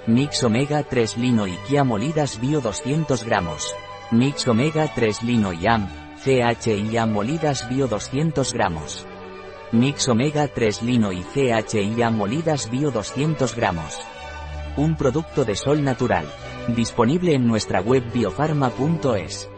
Mix Omega 3 Lino y Kia molidas bio 200 gramos. Mix Omega 3 Lino y AM, CHIA molidas bio 200 gramos. Mix Omega 3 Lino y CHIA molidas bio 200 gramos. Un producto de Sol Natural. Disponible en nuestra web biofarma.es.